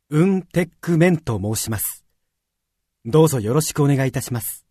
テックメンと申します。どうぞよろしくお願いいたします。